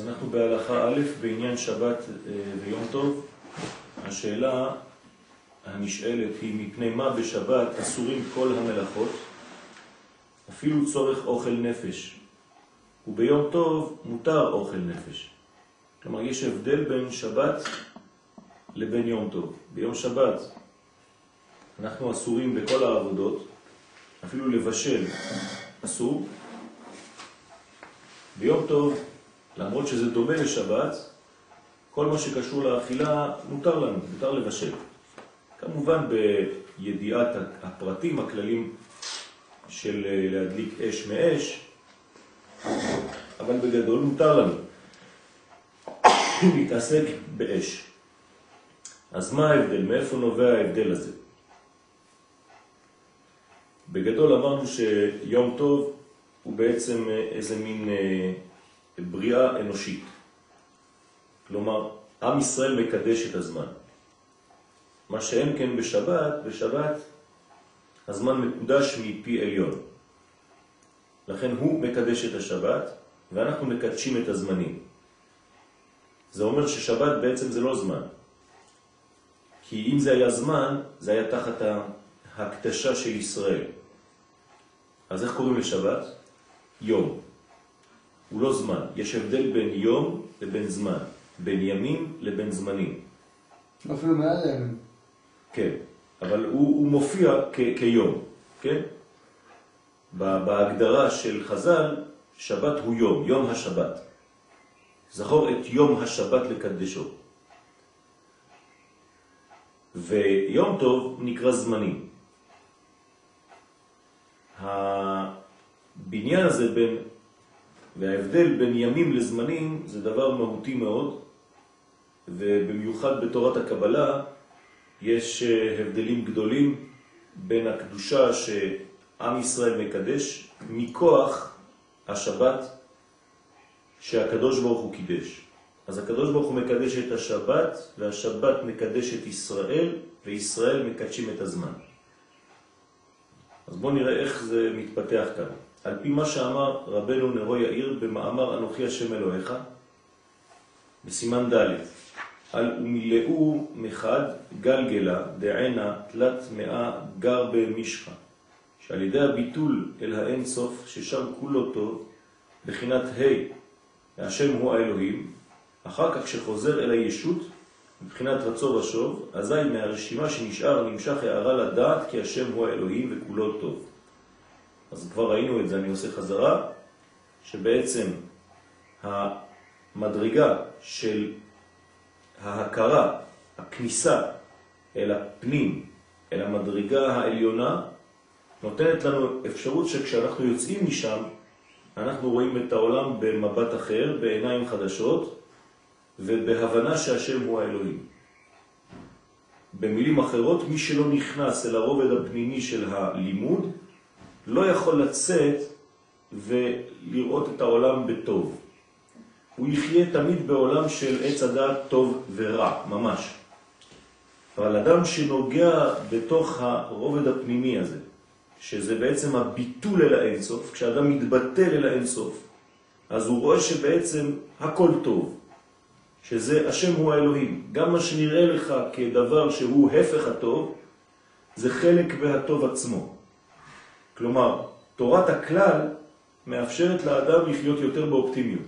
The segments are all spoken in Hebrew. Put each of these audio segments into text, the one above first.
אז אנחנו בהלכה א' בעניין שבת ויום טוב. השאלה הנשאלת היא מפני מה בשבת אסורים כל המלאכות, אפילו צורך אוכל נפש, וביום טוב מותר אוכל נפש. כלומר, יש הבדל בין שבת לבין יום טוב. ביום שבת אנחנו אסורים בכל העבודות, אפילו לבשל אסור. ביום טוב, למרות שזה דומה לשבת, כל מה שקשור לאכילה מותר לנו, מותר לבשל. כמובן בידיעת הפרטים, הכללים של להדליק אש מאש, אבל בגדול מותר לנו להתעסק באש. אז מה ההבדל? מאיפה נובע ההבדל הזה? בגדול אמרנו שיום טוב הוא בעצם איזה מין בריאה אנושית. כלומר, עם ישראל מקדש את הזמן. מה שאין כן בשבת הזמן מקודש מפי עליון. לכן הוא מקדש את השבת ואנחנו מקדשים את הזמנים. זה אומר ששבת בעצם זה לא זמן. כי אם זה היה זמן, זה היה תחת ההקדשה של ישראל. אז איך קוראים לשבת? יום. הוא לא זמן. יש הבדל בין יום לבין זמן. בין ימים לבין זמנים. אפילו מעל ימים. כן, אבל הוא מופיע כיום, כן? בהגדרה של חז"ל, שבת הוא יום, יום השבת. זכור את יום השבת לקדשו. ויום טוב נקרא זמנים. הבניין הזה וההבדל בין ימים לזמנים זה דבר מהותי מאוד, ובמיוחד בתורת הקבלה יש הבדלים גדולים בין הקדושה שעם ישראל מקדש מכוח השבת שהקדוש ברוך הוא קידש. אז הקדוש ברוך הוא מקדש את השבת, והשבת מקדש את ישראל, וישראל מקדשים את הזמן. אז בואו נראה איך זה מתפתח כאן. על פי מה שאמר רבנו נרו יאיר במאמר אנוכי השם אלוהיך, בסימן ד' על ומילאו מחד גלגלה דענה תלת מאה גר במשחה, שעל ידי הביטול אל האין סוף ששם כולו טוב, בחינת השם הוא האלוהים, אחר כך שחוזר אל הישות, מבחינת רצו ושוב, אזי מהרשימה שנשאר נמשך הערה לדעת כי השם הוא האלוהים וכולו טוב. אז כבר ראינו את זה, אני עושה חזרה, שבעצם המדרגה של ההכרה, הכניסה אל הפנים, אל המדרגה העליונה, נותנת לנו אפשרות שכשאנחנו יוצאים משם, אנחנו רואים את העולם במבט אחר, בעיניים חדשות, ובהבנה שהשם הוא האלוהים. במילים אחרות, מי שלא נכנס אל הרובד הפנימי של הלימוד, לא יכול לצאת ולראות את העולם בטוב. הוא יחיה תמיד בעולם של עץ הדעת טוב ורע, ממש. אבל אדם שנוגע בתוך הרובד הפנימי הזה, שזה בעצם הביטול אל האינסוף, כשאדם מתבטל אל האינסוף, אז הוא רואה שבעצם הכל טוב, שזה השם הוא האלוהים. גם מה שנראה לך כדבר שהוא הפך הטוב, זה חלק מהטוב עצמו. כלומר, תורת הכלל מאפשרת לאדם לחיות יותר באופטימיות,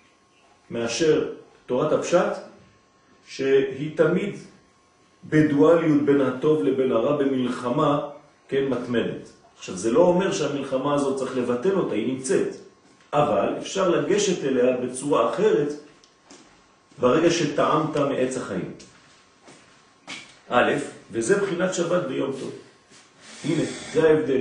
מאשר תורת הפשט, שהיא תמיד בדואליות בין הטוב לבין הרע, במלחמה, כן, מתמדת. עכשיו, זה לא אומר שהמלחמה הזאת צריך לבטל אותה, היא נמצאת. אבל אפשר לגשת אליה בצורה אחרת, ברגע שטעמת מעץ החיים. א', וזה בחינת שבת ביום טוב. הנה, זה ההבדל.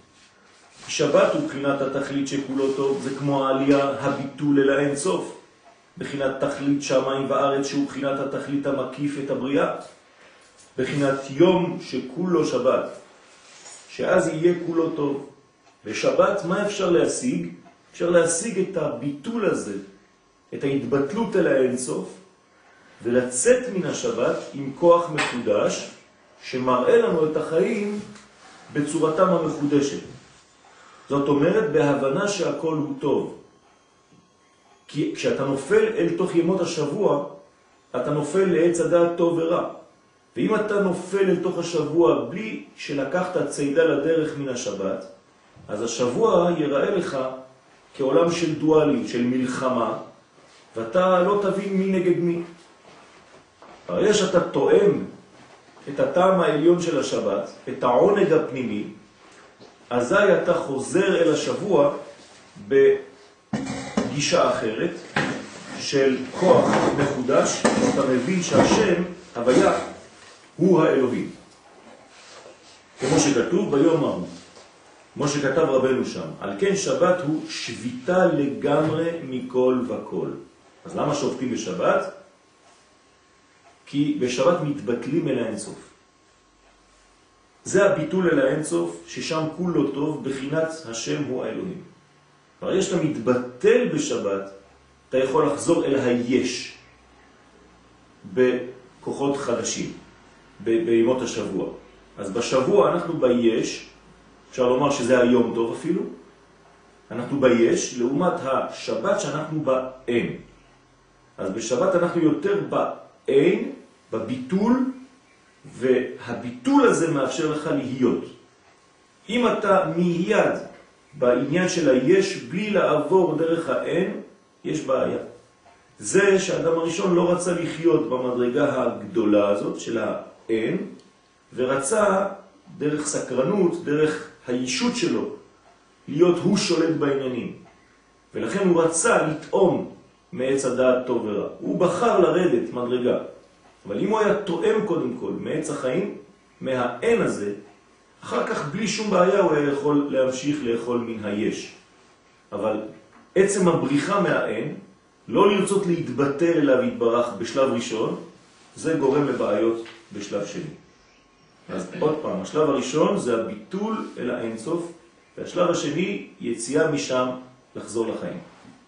שבת הוא בחינת התכלית שכולו טוב, זה כמו העלייה, הביטול אל האין סוף. בחינת תכלית שמיים וארץ שהוא בחינת התכלית המקיף את הבריאה. בחינת יום שכולו שבת, שאז יהיה כולו טוב. בשבת מה אפשר להשיג? אפשר להשיג את הביטול הזה, את ההתבטלות אל האין סוף, ולצאת מן השבת עם כוח מחודש, שמראה לנו את החיים בצורתם המחודשת. זאת אומרת, בהבנה שהכל הוא טוב. כי כשאתה נופל אל תוך ימות השבוע, אתה נופל לעץ הדעת טוב ורע. ואם אתה נופל אל תוך השבוע בלי שלקחת צידה לדרך מן השבת, אז השבוע ייראה לך כעולם של דואליות, של מלחמה, ואתה לא תבין מי נגד מי. הרי שאתה תואם את הטעם העליון של השבת, את העונג הפנימי, אזי אתה חוזר אל השבוע בגישה אחרת של כוח מחודש, אתה מבין שהשם, הוויה, הוא האלוהים. כמו שכתוב ביום ההוא, כמו שכתב רבנו שם, על כן שבת הוא שביתה לגמרי מכל וכל. אז למה שובתים בשבת? כי בשבת מתבטלים אל האינסוף. זה הביטול אל האינסוף, ששם כולו טוב, בחינת השם הוא האלוהים. הרי שאתה מתבטל בשבת, אתה יכול לחזור אל היש בכוחות חדשים, בימות השבוע. אז בשבוע אנחנו ביש, אפשר לומר שזה היום טוב אפילו, אנחנו ביש, לעומת השבת שאנחנו באין. אז בשבת אנחנו יותר באין, בביטול, והביטול הזה מאפשר לך להיות. אם אתה מיד בעניין של היש בלי לעבור דרך האין, יש בעיה. זה שהאדם הראשון לא רצה לחיות במדרגה הגדולה הזאת של האין, ורצה דרך סקרנות, דרך הישות שלו, להיות הוא שולט בעניינים. ולכן הוא רצה לטעום מעץ הדעת טוב ורע. הוא בחר לרדת מדרגה. אבל אם הוא היה תואם קודם כל מעץ החיים, מהאין הזה, אחר כך בלי שום בעיה הוא היה יכול להמשיך לאכול מן היש. אבל עצם הבריחה מהאין, לא לרצות להתבטל אליו יתברך בשלב ראשון, זה גורם לבעיות בשלב שני. אז עוד פעם, השלב הראשון זה הביטול אל האינסוף, והשלב השני יציאה משם לחזור לחיים.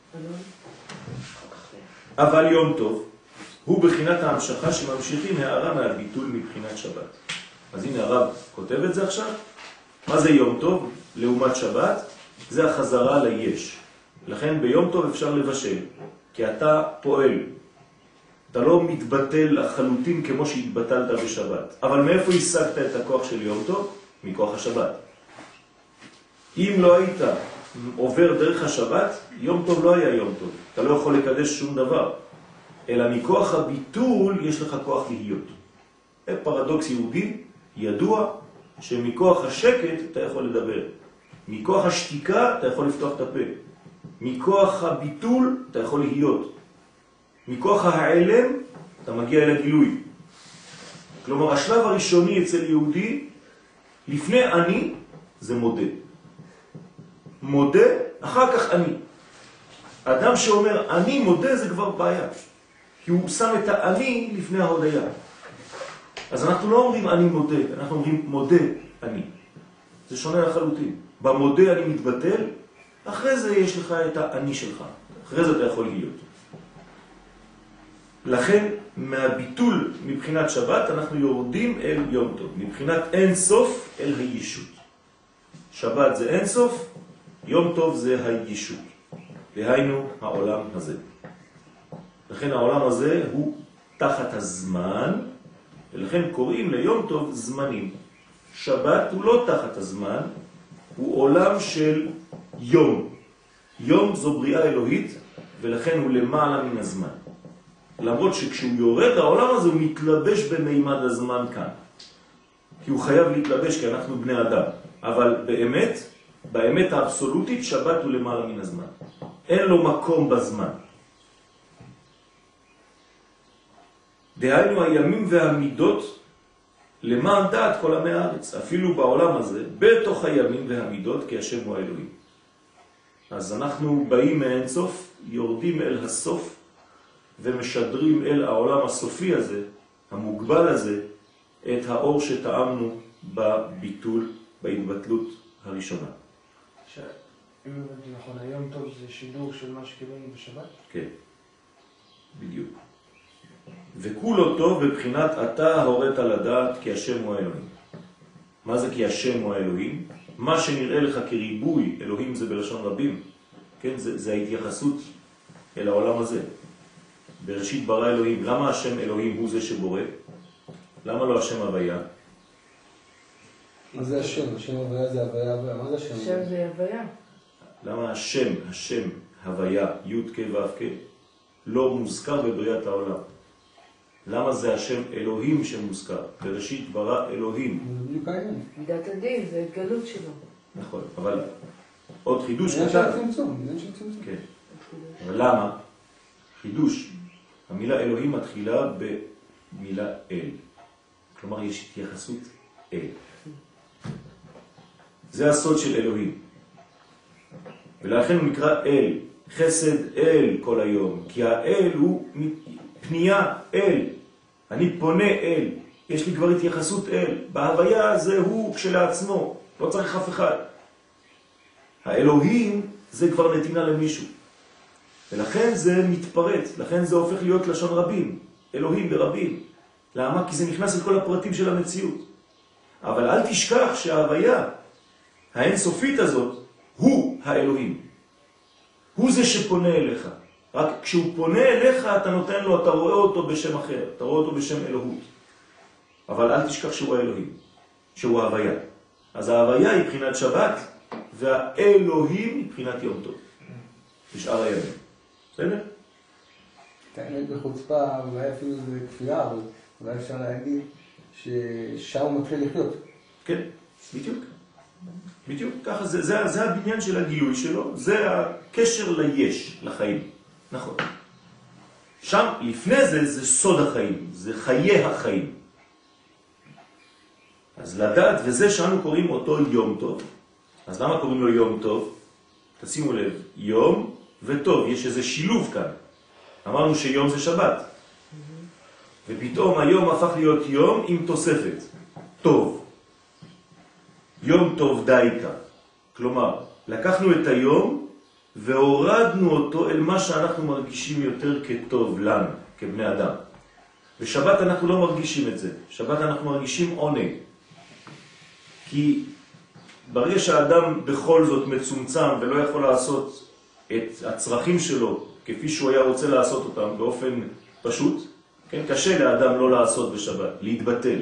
אבל יום טוב הוא בחינת ההמשכה שממשיכים הערה מהביטול מבחינת שבת. אז הנה הרב כותב את זה עכשיו. מה זה יום טוב? לעומת שבת, זה החזרה ליש. לכן ביום טוב אפשר לבשל, כי אתה פועל. אתה לא מתבטל לחלוטין כמו שהתבטלת בשבת. אבל מאיפה השגת את הכוח של יום טוב? מכוח השבת. אם לא היית עובר דרך השבת, יום טוב לא היה יום טוב. אתה לא יכול לקדש שום דבר. אלא מכוח הביטול יש לך כוח להיות. זה פרדוקס יהודי ידוע שמכוח השקט אתה יכול לדבר. מכוח השתיקה אתה יכול לפתוח את הפה. מכוח הביטול אתה יכול להיות. מכוח העלם אתה מגיע אל הגילוי. כלומר, השלב הראשוני אצל יהודי, לפני אני, זה מודה. מודה, אחר כך אני. אדם שאומר אני מודה זה כבר בעיה. כי הוא שם את האני לפני ההודיה. אז אנחנו לא אומרים אני מודה, אנחנו אומרים מודה אני. זה שונה לחלוטין. במודה אני מתבטל, אחרי זה יש לך את האני שלך. אחרי זה אתה יכול להיות. לכן, מהביטול מבחינת שבת, אנחנו יורדים אל יום טוב. מבחינת אין סוף אל הישות. שבת זה אין סוף, יום טוב זה הישות. והיינו העולם הזה. לכן העולם הזה הוא תחת הזמן, ולכן קוראים ליום טוב זמנים. שבת הוא לא תחת הזמן, הוא עולם של יום. יום זו בריאה אלוהית, ולכן הוא למעלה מן הזמן. למרות שכשהוא יורד העולם הזה הוא מתלבש במימד הזמן כאן. כי הוא חייב להתלבש כי אנחנו בני אדם. אבל באמת האבסולוטית שבת הוא למעלה מן הזמן. אין לו מקום בזמן. דהיינו הימים והמידות למען דעת כל עמי הארץ. אפילו בעולם הזה, בתוך הימים והמידות, כי השם הוא האלוהים. אז אנחנו באים מאין סוף, יורדים אל הסוף, ומשדרים אל העולם הסופי הזה, המוגבל הזה, את האור שטעמנו בביטול, בהתבטלות הראשונה. אם הבנתי נכון, היום טוב זה שידור של מה שקיבלנו בשבת? כן, בדיוק. וכולו טוב בבחינת אתה הורית לדעת כי השם הוא האלוהים. מה זה כי השם הוא האלוהים? מה שנראה לך כריבוי, אלוהים זה בלשון רבים, כן? זה ההתייחסות אל העולם הזה. בראשית ברא אלוהים. למה השם אלוהים הוא זה שבורא? למה לא השם הוויה? מה זה השם? השם הוויה זה הוויה. מה זה השם? השם זה הוויה. למה השם הוויה, י' כ' ו' כ', לא מוזכר בבריאת העולם? למה זה השם אלוהים שמוזכר? בראשית ברא אלוהים. זה בדיוק העניין. מידת הדין, זה התגלות שלו. נכון, אבל עוד חידוש עניין של קטן. צמצום, עניין של צמצום. כן. אבל למה? חידוש. המילה אלוהים מתחילה במילה אל. כלומר, יש התייחסות אל. זה הסוד של אלוהים. ולכן הוא נקרא אל. חסד אל כל היום. כי האל הוא פנייה אל. אני פונה אל. יש לי כבר התייחסות אל. בהוויה זה הוא כשלעצמו. לא צריך אף אחד. האלוהים זה כבר נתינה למישהו. ולכן זה מתפרט. לכן זה הופך להיות לשון רבים. אלוהים ברבים. למה? כי זה נכנס לכל הפרטים של המציאות. אבל אל תשכח שההוויה האינסופית הזאת הוא האלוהים. הוא זה שפונה אליך. רק כשהוא פונה אליך אתה נותן לו, אתה רואה אותו בשם אחר. אתה רואה אותו בשם אלוהות. אבל אל תשכח שהוא האלוהים. שהוא ההוויה. אז ההוויה היא בחינת שבת, והאלוהים היא בחינת יום טוב. בשאר הימים. בסדר? את האמת בחוצפה, אולי אפילו זה כפייה, אבל אולי אפשר להגיד ששם הוא מתחיל לחיות. כן, בדיוק. בדיוק, ככה זה הבניין של הגילוי שלו, זה הקשר ליש, לחיים. נכון. שם, לפני זה סוד החיים, זה חיי החיים. אז לדעת, וזה שאנו קוראים אותו יום טוב. אז למה קוראים לו יום טוב? תשימו לב, יום וטוב, יש איזה שילוב כאן. אמרנו שיום זה שבת. ופתאום היום הפך להיות יום עם תוספת. טוב. יום טוב דייקה. כלומר, לקחנו את היום והורדנו אותו אל מה שאנחנו מרגישים יותר כטוב לנו, כבני אדם. בשבת אנחנו לא מרגישים את זה. בשבת אנחנו מרגישים עונג. כי ברגע שהאדם בכל זאת מצומצם ולא יכול לעשות את הצרכים שלו כפי שהוא היה רוצה לעשות אותם באופן פשוט, כן? קשה לאדם לא לעשות בשבת, להתבטל.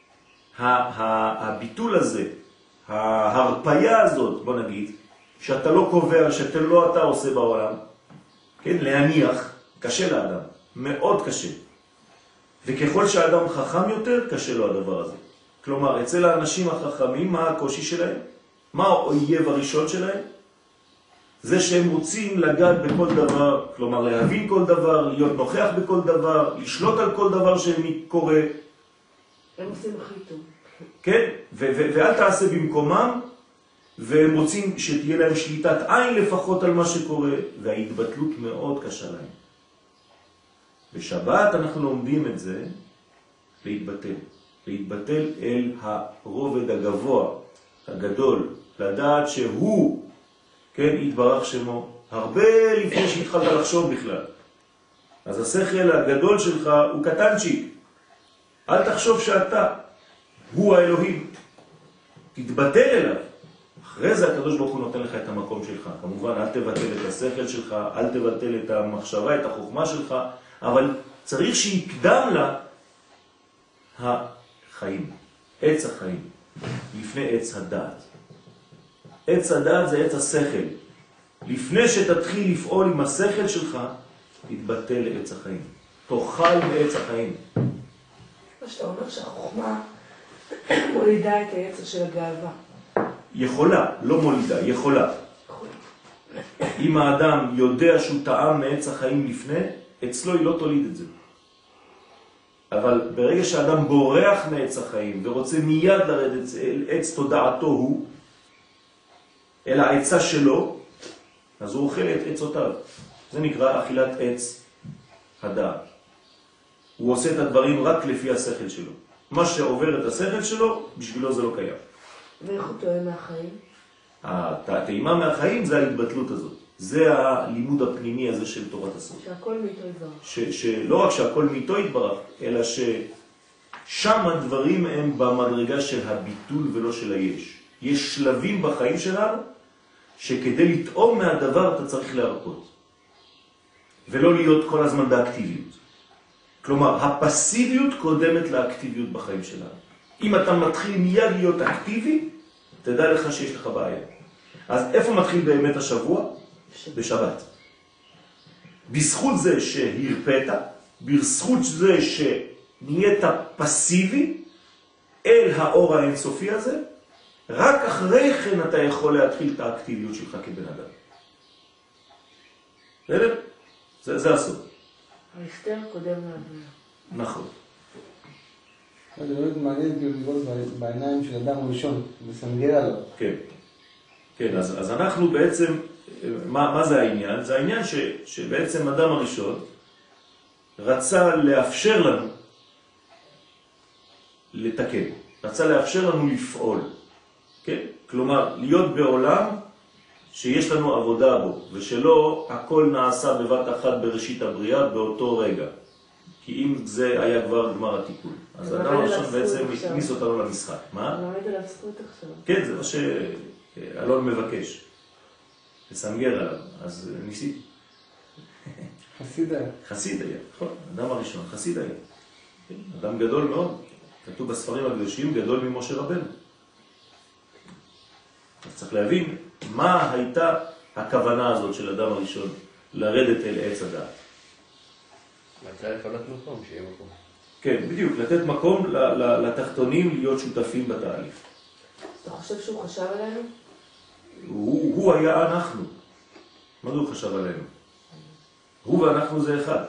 הביטול הזה, ההרפיה הזאת, בוא נגיד, שאתה לא קובע, שאתה לא אתה עושה בעולם, כן? להניח, קשה לאדם, מאוד קשה. וככל שהאדם חכם יותר, קשה לו הדבר הזה. כלומר, אצל האנשים החכמים, מה הקושי שלהם? מה האויב הראשון שלהם? זה שהם רוצים לגעת בכל דבר, כלומר להבין כל דבר, להיות נוכח בכל דבר, לשלוט על כל דבר שקורה. הם עושים הכי טוב. כן? ואל תעשה במקומם, והם רוצים שתהיה להם שליטת עין לפחות על מה שקורה, וההתבטלות מאוד קשה להם. בשבת אנחנו לומדים את זה להתבטל. להתבטל אל הרובד הגבוה, הגדול, לדעת שהוא, כן, יתברך שמו, הרבה לפני שהתחלת לחשוב בכלל. אז השכל הגדול שלך הוא קטנצ'יק. אל תחשוב שאתה, הוא האלוהים. תתבטל אליו. אחרי זה הקדוש ברוך הוא נותן לך את המקום שלך. כמובן, אל תבטל את השכל שלך, אל תבטל את המחשבה, את החוכמה שלך, אבל צריך שיקדם לה החיים, עץ החיים, לפני עץ הדעת. עץ הדעת זה עץ השכל. לפני שתתחיל לפעול עם השכל שלך, תתבטל לעץ החיים. תאכל מעץ החיים. מה שאתה אומר שהחוכמה מולידה את היצר של הגאווה. יכולה, לא מולידה, יכולה. אם האדם יודע שהוא טעם מעץ החיים לפני, אצלו היא לא תוליד את זה. אבל ברגע שהאדם בורח מעץ החיים ורוצה מיד לרדת אל עץ תודעתו הוא, אל העצה שלו, אז הוא אוכל את עצותיו. זה נקרא אכילת עץ הדעת. הוא עושה את הדברים רק לפי השכל שלו. מה שעובר את השכל שלו, בשבילו זה לא קיים. ואיך הוא טועה מהחיים? הטעימה מהחיים זה ההתבטלות הזאת. זה הלימוד הפנימי הזה של תורת הסוד. שהכל מאיתו יתברך. שלא רק שהכל מאיתו יתברך, אלא ששם הדברים הם במדרגה של הביטול ולא של היש. יש שלבים בחיים שלנו שכדי לטעום מהדבר אתה צריך להרפות. ולא להיות כל הזמן באקטיביות. כלומר, הפסיביות קודמת לאקטיביות בחיים שלנו. אם אתה מתחיל מיד להיות אקטיבי, תדע לך שיש לך בעיה. אז איפה מתחיל באמת השבוע? בשבת. בזכות זה שהרפאת, בזכות זה שנהיית פסיבי אל האור האינסופי הזה, רק אחרי כן אתה יכול להתחיל את האקטיביות שלך כבן אדם. בסדר? זה הסוד. ההסתר קודם להבנה. נכון. זה באמת מעניין לראות בעיניים של אדם הראשון, לסנגר עליו. כן. כן, אז אנחנו בעצם, מה זה העניין? זה העניין שבעצם אדם הראשון רצה לאפשר לנו לתקן, רצה לאפשר לנו לפעול. כן? כלומר, להיות בעולם שיש לנו עבודה בו, ושלא הכל נעשה בבת אחת בראשית הבריאה באותו רגע. כי אם זה היה כבר גמר התיקון. אז האדם הראשון בעצם הכניס אותנו למשחק. מה? לומד עליו זכות עכשיו. כן, זה מה שאלון מבקש. לסנגר עליו. אז ניסית. חסיד היה. חסיד היה, נכון. האדם הראשון, חסיד היה. אדם גדול מאוד. כתוב בספרים הקדושים, גדול ממשה רבנו. אז צריך להבין מה הייתה הכוונה הזאת של אדם הראשון לרדת אל עץ הדעת. רצה לפנות מקום, שיהיה מקום. כן, בדיוק, לתת מקום לתחתונים להיות שותפים בתהליך. אתה חושב שהוא חשב עלינו? הוא היה אנחנו. מה זה הוא חשב עלינו? הוא ואנחנו זה אחד.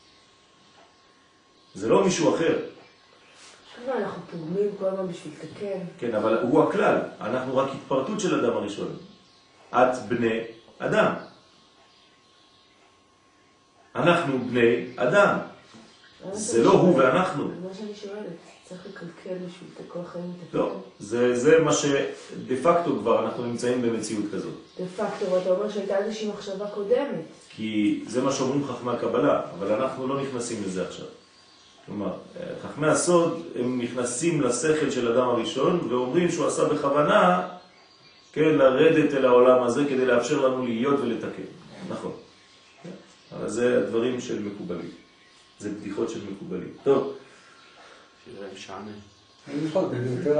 זה לא מישהו אחר. אנחנו פוגמים כל הזמן בשביל לתקן. כן, אבל הוא הכלל. אנחנו רק התפרטות של אדם הראשון. את בני אדם. אנחנו בני אדם. זה לא הוא ואנחנו. מה שאני שואלת, צריך לקלקל בשביל את כל החיים לתקן? לא, זה מה שדה פקטו כבר אנחנו נמצאים במציאות כזאת. דה פקטו, ואתה אומר שהייתה איזושהי מחשבה קודמת. כי זה מה שאומרים חכמי הקבלה, אבל אנחנו לא נכנסים לזה עכשיו. כלומר, חכמי הסוד הם נכנסים לשכל של אדם הראשון ואומרים שהוא עשה בכוונה, כן, לרדת אל העולם הזה כדי לאפשר לנו להיות ולתקן. נכון. אבל זה הדברים של מקובלים. זה בדיחות של מקובלים. טוב. שזה משעמם. אני נכון,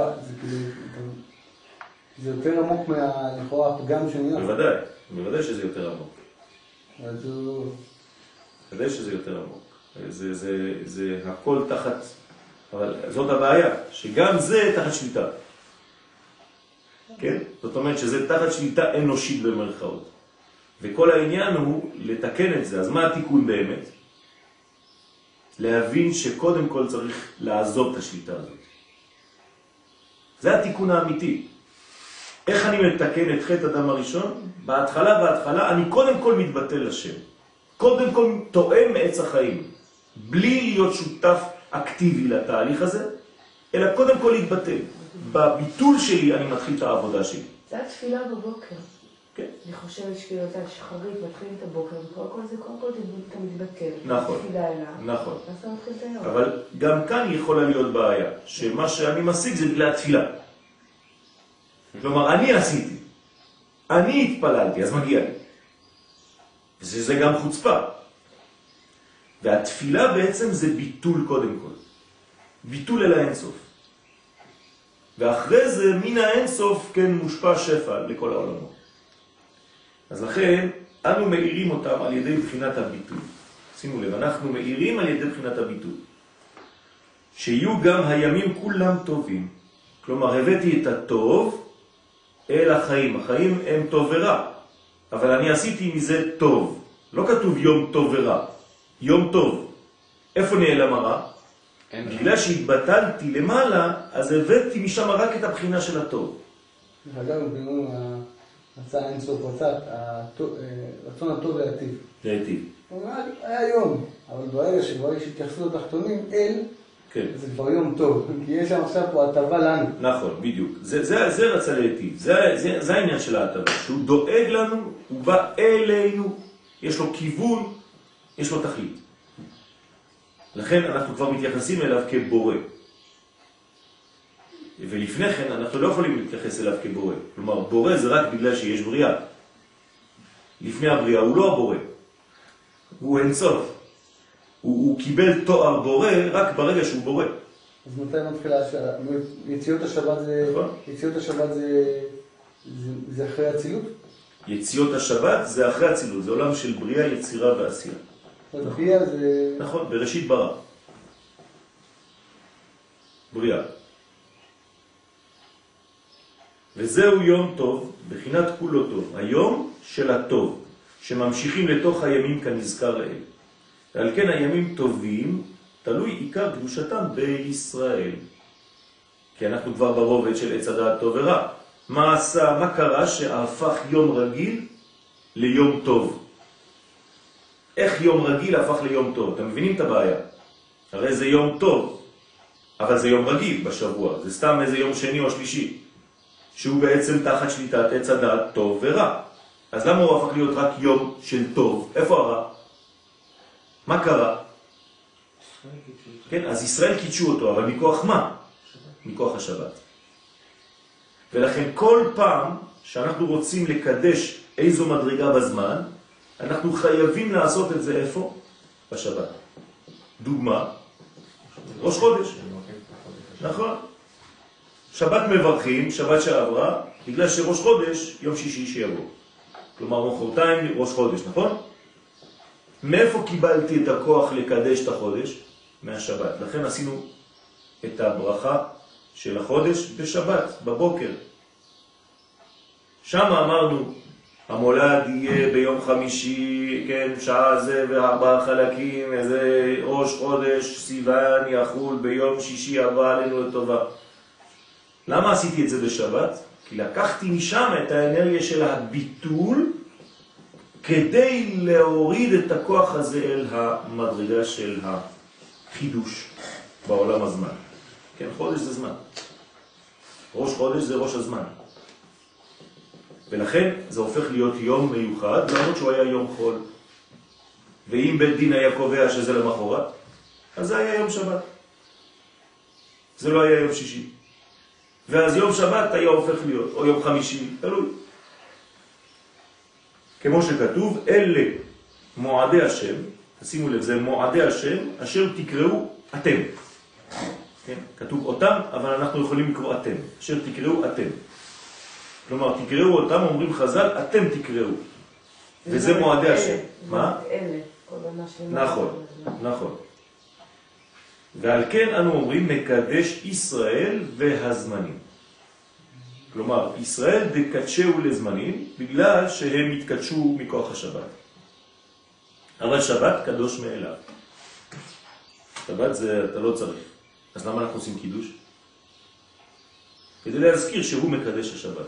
זה יותר עמוק מהלכאורה הפגם שנהיה. בוודאי שזה יותר עמוק. אז הוא... בוודאי שזה יותר עמוק. זה הכל תחת, אבל זאת הבעיה, שגם זה תחת שליטה. כן? זאת אומרת שזה תחת שליטה אנושית במרכאות. וכל העניין הוא לתקן את זה. אז מה התיקון באמת? להבין שקודם כל צריך לעזוב את השליטה הזאת. זה התיקון האמיתי. איך אני מתקן את חטא אדם הראשון? בהתחלה אני קודם כל מתבטל לשם. קודם כל תואם מעץ החיים. בלי להיות שותף אקטיבי לתהליך הזה, אלא קודם כל להתבטל. בביטול שלי אני מתחיל את העבודה שלי. זה התפילה בבוקר. כן. אני חושבת שפיותה שחרית, מתחילים את הבוקר, וכל זה, קודם כל אתה מתבטל. נכון. תפילה אליו. נכון. ואז אתה מתחיל את היום. אבל גם כאן יכולה להיות בעיה, שמה שאני משיג זה בגלל התפילה. כלומר, אני עשיתי. אני התפללתי, אז מגיע לי. וזה גם חוצפה. והתפילה בעצם זה ביטול קודם כל. ביטול אל האינסוף. ואחרי זה מן האינסוף כן מושפע שפע לכל העולמות. אז לכן אנו מאירים אותם על ידי בחינת הביטול. שימו לב, אנחנו מאירים על ידי בחינת הביטול. שיהיו גם הימים כולם טובים. כלומר, הבאתי את הטוב אל החיים. החיים הם טוב ורע. אבל אני עשיתי מזה טוב. לא כתוב יום טוב ורע. יום טוב. איפה נעלם הרע? בגלל שהתבטלתי למעלה, אז הבאתי משם רק את הבחינה של הטוב. אגב, בגלל רצה אינסוף, רצון הטוב להיטיב. להיטיב. הוא אומר, היה יום, אבל ברגע שכבר יש התייחסות לתחתונים, כן. זה כבר יום טוב, כי יש שם עכשיו פה הטבה לנו. נכון, בדיוק. זה רצה להיטיב. זה העניין של ההטבה. שהוא דואג לנו, הוא בא אלינו, יש לו כיוון, יש לו תכלית. לכן אנחנו כבר מתייחסים אליו כבורא. ולפני כן אנחנו לא יכולים להתייחס אליו כבורא. כלומר, בורא זה רק בגלל שיש בריאה. לפני הבריאה הוא לא הבורא. הוא אין סוף. הוא קיבל תואר בורא רק ברגע שהוא בורא. אז מתי מתחילה השבת? יציאות השבת זה... נכון. יציאות השבת זה אחרי הצילות? יציאות השבת זה אחרי הצילות, זה עולם של בריאה, יצירה ועשייה. בריאה זה... נכון, בראשית ברא. בריאה. וזהו יום טוב, בחינת כולו טוב, היום של הטוב, שממשיכים לתוך הימים כנזכר לאל. ועל כן הימים טובים, תלוי עיקר קדושתם בישראל. כי אנחנו כבר ברובד של עץ הדעת טוב ורע. מה קרה שהפך יום רגיל ליום טוב? איך יום רגיל הפך ליום טוב? אתם מבינים את הבעיה? הרי זה יום טוב, אבל זה יום רגיל בשבוע. זה סתם איזה יום שני או שלישי, שהוא בעצם תחת שליטת עץ הדעת טוב ורע. אז למה הוא הפך להיות רק יום של טוב? איפה הרע? מה קרה? כן, אז ישראל קידשו אותו, אבל מכוח מה? מכוח השבת. ולכן כל פעם שאנחנו רוצים לקדש איזו מדרגה בזמן, אנחנו חייבים לעשות את זה איפה? בשבת. דוגמה, ראש חודש. נכון. שבת מברכים, שבת שעברה, בגלל שראש חודש, יום שישי שיבוא. כלומר, מחרתיים ראש חודש, נכון? מאיפה קיבלתי את הכוח לקדש את החודש? מהשבת. לכן עשינו את הברכה של החודש בשבת, בבוקר. שם אמרנו, המולד יהיה ביום חמישי, כן, שעה זה וארבעה חלקים, איזה ראש חודש, סיוון יחול ביום שישי הבא עלינו לטובה. למה עשיתי את זה בשבת? כי לקחתי משם את האנרגיה של הביטול, כדי להוריד את הכוח הזה אל המדרגה של החידוש בעולם הזמן. כן, חודש זה זמן. ראש חודש זה ראש הזמן. ולכן זה הופך להיות יום מיוחד, למרות שהוא היה יום חול. ואם בית דין היה קובע שזה למחרת, אז זה היה יום שבת. זה לא היה יום שישי. ואז יום שבת היה הופך להיות, או יום חמישי, תלוי. כמו שכתוב, אלה מועדי השם, תשימו לב, זה מועדי השם, אשר תקראו אתם. כן? כתוב אותם, אבל אנחנו יכולים לקרוא אתם. אשר תקראו אתם. כלומר, תקראו אותם, אומרים חז"ל, אתם תקראו. וזה מועדי השם. מה? אלה. נכון, נכון. ועל כן אנו אומרים מקדש ישראל והזמנים. כלומר, ישראל דקדשהו לזמנים בגלל שהם התקדשו מכוח השבת. אבל שבת קדוש מאליו. שבת זה אתה לא צריך. אז למה אנחנו עושים קידוש? כדי להזכיר שהוא מקדש השבת.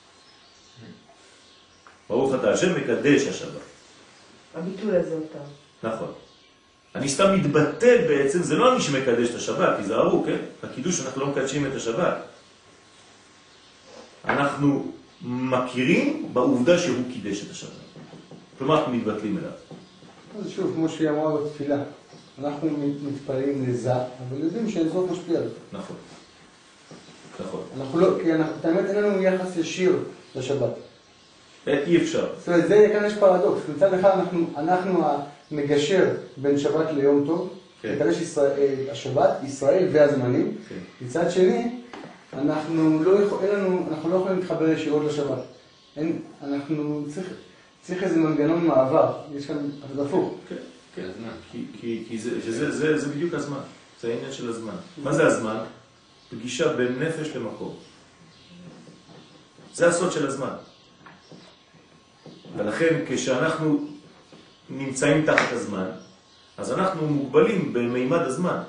ברוך אתה השם מקדש השבת. הביטול הזה אותם. נכון. אני סתם מתבטל בעצם, זה לא אני שמקדש את השבת, תיזהרו, כן? בקידוש אנחנו לא מקדשים את השבת. אנחנו מכירים בעובדה שהוא קידש את השבת. כלומר, אנחנו מתבטלים אליו. אז שוב, כמו שהיא אמרה בתפילה, אנחנו מתפללים לזה, אבל יודעים שאין זאת משפיע. נכון. נכון. אנחנו לא, כי את האמת אין לנו יחס ישיר לשבת. אי אפשר. זאת אומרת, זה כאן יש פרדוקס. מצד אחד אנחנו המגשר בין שבת ליום טוב, מקדש השבת, ישראל והזמנים. מצד שני, אנחנו לא יכולים להתחבר ישירות לשבת. צריך איזה מנגנון מעבר. יש כאן הפוך. כן, כי זה בדיוק הזמן. זה העניין של הזמן. מה זה הזמן? פגישה בין נפש למקום. זה הסוד של הזמן. ולכן כשאנחנו נמצאים תחת הזמן, אז אנחנו מוגבלים במימד הזמן.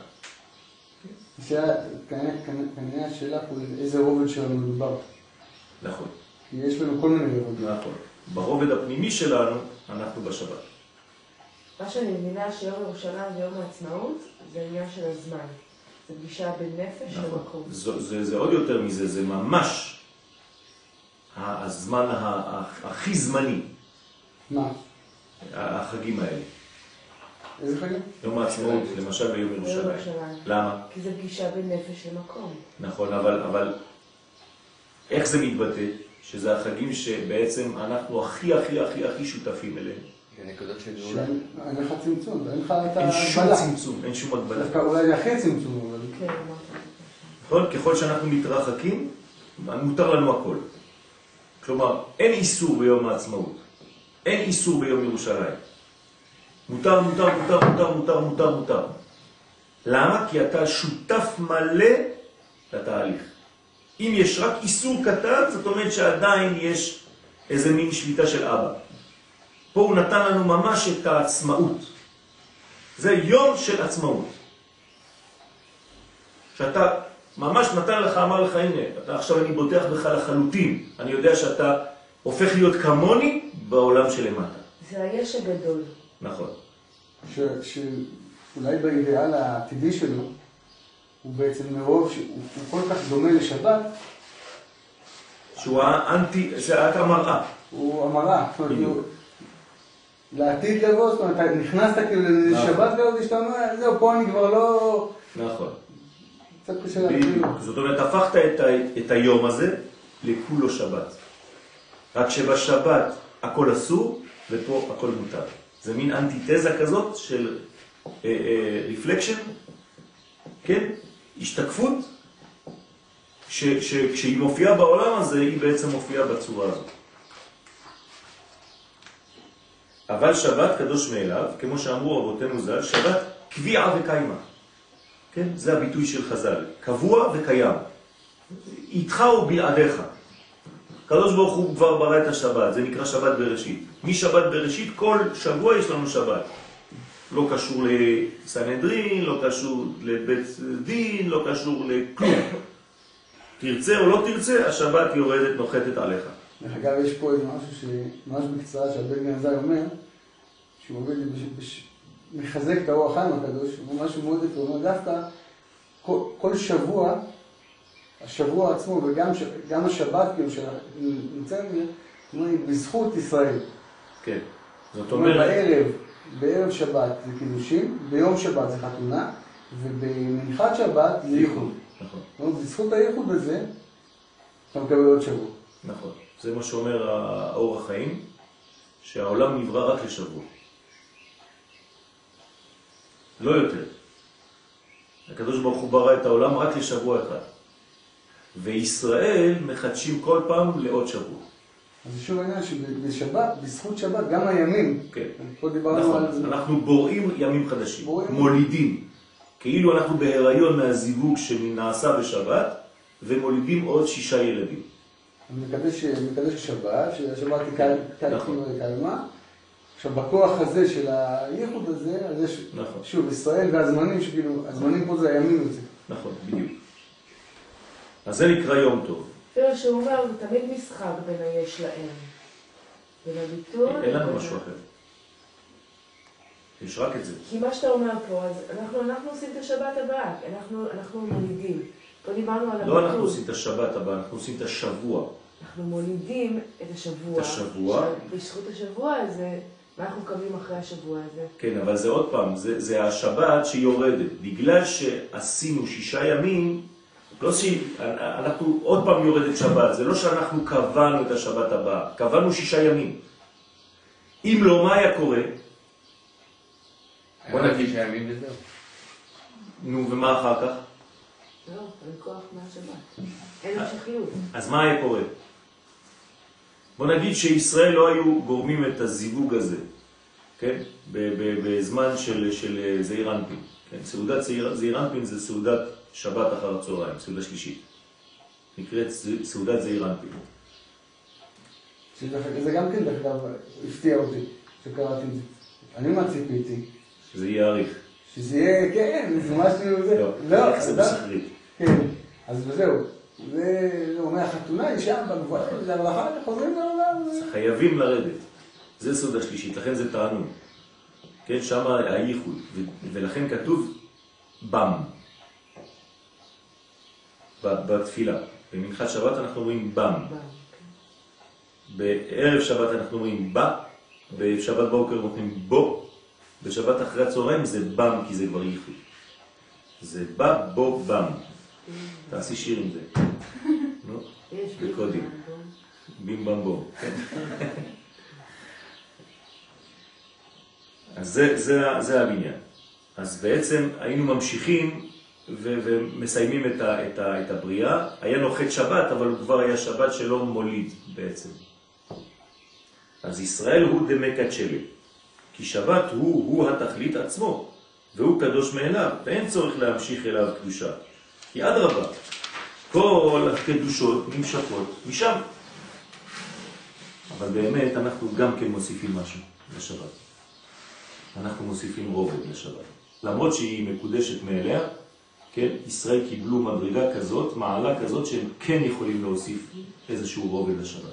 כנראה השאלה פה איזה רובד שלנו מדובר. נכון. כי יש לנו כל מיני רובדים. נכון. ברובד הפנימי שלנו, אנחנו בשבת. מה שאני מבינה שיום ירושלים ויום העצמאות זה עניין של הזמן. זה פגישה בין נפש למקום. זה עוד יותר מזה, זה ממש הזמן הכי זמני. מה? החגים האלה. איזה חגים? יום העצמאות, למשל ביום ירושלים. למה? כי זה פגישה בין נפש למקום. נכון, אבל איך זה מתבטא? שזה החגים שבעצם אנחנו הכי שותפים אליהם. נקודות של גאולה. אין לך צמצום, אין לך את אין שום ההגבלה. צמצום, אין שום הגבלה. דווקא אולי הכי צמצום, אבל... כן, אמרת. נכון? ככל שאנחנו מתרחקים, מותר לנו הכל. כלומר, אין איסור ביום העצמאות. אין איסור ביום ירושלים. מותר, מותר, מותר, מותר, מותר, מותר, מותר. למה? כי אתה שותף מלא לתהליך. אם יש רק איסור קטן, זאת אומרת שעדיין יש איזה מין שליטה של אבא. פה הוא נתן לנו ממש את העצמאות. זה יום של עצמאות. שאתה ממש נתן לך, אמר לך, הנה, עכשיו אני בוטח בך לחלוטין. אני יודע שאתה הופך להיות כמוני בעולם שלמטה. זה היש הגדול. נכון. שאולי באידאל העתידי שלו, הוא בעצם מרוב שהוא כל כך דומה לשבת, שהוא האנטי, זה את המראה. הוא המראה. לעתיד לבוא, זאת אומרת, אתה נכנסת כאילו לשבת כזאת, שאתה אומר, זהו, פה אני כבר לא... נכון. קצת קשה להגיד. זאת אומרת, הפכת את היום הזה לכולו שבת. רק שבשבת הכל אסור, ופה הכל מותר. זה מין אנטיתזה כזאת של רפלקשן, כן? השתקפות, כשהיא מופיעה בעולם הזה, היא בעצם מופיעה בצורה הזאת. אבל שבת קדוש מאליו, כמו שאמרו רבותינו ז"ל, שבת קביעה וקיימה. כן? זה הביטוי של חז"ל. קבוע וקיים. איתך ובלעדיך. קדוש ברוך הוא כבר ברא את השבת, זה נקרא שבת בראשית. משבת בראשית כל שבוע יש לנו שבת. לא קשור לסנהדרין, לא קשור לבית דין, לא קשור לכלום. תרצה או לא תרצה, השבת יורדת, נוחתת עליך. דרך אגב, יש פה איזה משהו שממש בקצרה שהבן גנזי אומר, שהוא עובד מחזק את האור החיים הקדוש, הוא משהו מאוד יפה, הוא אומר דווקא כל שבוע, השבוע עצמו וגם השבת כאילו שנמצאים בזכות ישראל. כן, זאת אומרת... בערב שבת זה קידושים, ביום שבת זה חתונה, ובמנחת שבת זה ייחוד. נכון. בזכות הייחוד הזה, אתה מקבל עוד שבוע. נכון. זה מה שאומר האור החיים, שהעולם נברא רק לשבוע. לא יותר. הקדוש ברוך הוא ברא את העולם רק לשבוע אחד. וישראל מחדשים כל פעם לעוד שבוע. אז שוב העניין שבשבת, בזכות שבת, גם הימים. כן. פה דיברנו על זה. אנחנו בוראים ימים חדשים, מולידים. כאילו אנחנו בהיריון מהזיווג שנעשה בשבת, ומולידים עוד 6 ילדים. אני מקדש השבת, שהשבת היא קיימה. עכשיו, בכוח הזה של הייחוד הזה, אז יש, שוב, ישראל והזמנים, שכאילו, הזמנים פה זה הימים הזה. נכון, בדיוק. אז זה נקרא יום טוב. אפילו שהוא אומר, זה תמיד משחק בין היש להם. בין הביטוי... אין לנו משהו אחר. יש רק את זה. כי מה שאתה אומר פה, אז אנחנו עושים את השבת הבאה, אנחנו מולידים. פה דיברנו על הביטוי. לא אנחנו עושים את השבת הבאה, אנחנו עושים את השבוע. אנחנו מולידים את השבוע. את השבוע. בזכות השבוע הזה, אנחנו קמים אחרי השבוע הזה. כן, אבל זה עוד פעם, זה השבת שיורדת. בגלל שעשינו 6 ימים, לא שאנחנו עוד פעם יורדת שבת, זה לא שאנחנו קבענו את השבת הבאה, קבענו 6 ימים. אם לא, מה היה קורה? בוא נגיד 6 ימים וזהו. נו, ומה אחר כך? לא, אין כוח מהשבת. אין המשכיות. אז מה היה קורה? בוא נגיד שישראל לא היו גורמים את הזיווג הזה, כן? בזמן של זעיר אנפין. כן? סעודת זעיר אנפין זה סעודת שבת אחר הצהריים, סעודה שלישית. נקראת סעודת זעיר אנפין. זה גם כן דרך אגב הפתיע אותי, שקראתי את זה. אני מה ציפיתי? שזה יהיה אריך. שזה יהיה, כן, זה משהו זה. לא, זה בסחרית. כן, אז זהו. זה אומר, החתונה היא שם בגבוהה, אבל אחר כך חוזרים לעולם. חייבים לרדת. זה סעודה שלישית, לכן זה תענוג. כן, שם הייחוד, ולכן כתוב בם. בתפילה. במנחת שבת אנחנו אומרים בם. בערב שבת אנחנו אומרים בא, בשבת בוקר אומרים בו, בשבת אחרי הצהריים זה בם, כי זה כבר ייחוד. זה בא, בו, בם. תעשי שיר עם זה. נו, בקודים. בים במבום. אז זה הבניין. אז בעצם היינו ממשיכים ומסיימים את הבריאה. היה נוחת שבת, אבל הוא כבר היה שבת שלא מוליד בעצם. אז ישראל הוא דמקדשלה, כי שבת הוא התכלית עצמו, והוא קדוש מאליו, ואין צורך להמשיך אליו קדושה. כי אדרבה, כל הקדושות נמשכות משם. אבל באמת אנחנו גם כן מוסיפים משהו לשבת. אנחנו מוסיפים רובד לשבת. למרות שהיא מקודשת מאליה, כן, ישראל קיבלו מדרגה כזאת, מעלה כזאת, שהם כן יכולים להוסיף איזשהו רובד לשבת.